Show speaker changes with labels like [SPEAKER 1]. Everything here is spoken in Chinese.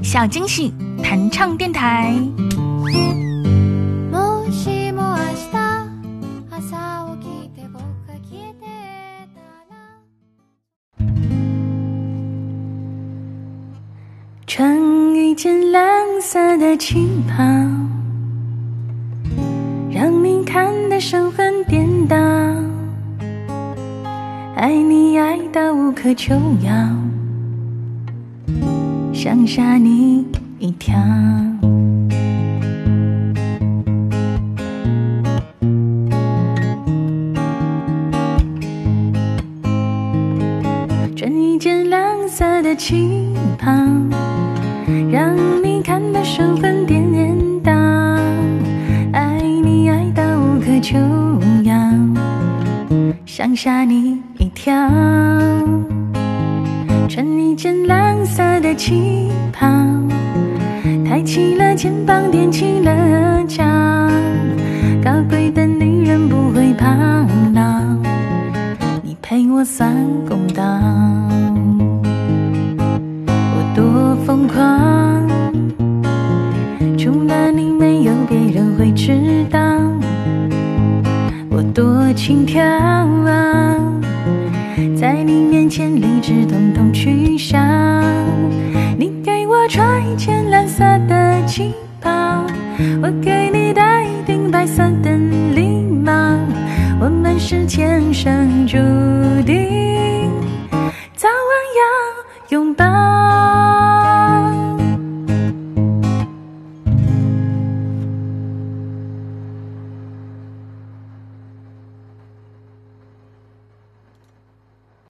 [SPEAKER 1] 小惊喜弹唱电台。
[SPEAKER 2] 穿一件蓝色的旗袍，让你看得神魂颠倒，爱你爱到无可救药，想吓你一跳。穿一件蓝色的旗袍，让你看得神魂颠倒，爱你爱到无可救药，想吓你一跳。穿一件蓝色的旗袍，抬起了肩膀，踮起了脚，高贵的女人不会怕老，你陪我算公道。我多疯狂，除了你没有别人会知道，我多轻佻，在你面前理智统统取消。你给我穿一件蓝色的旗袍，我给你戴一顶白色的礼帽，我们是天生就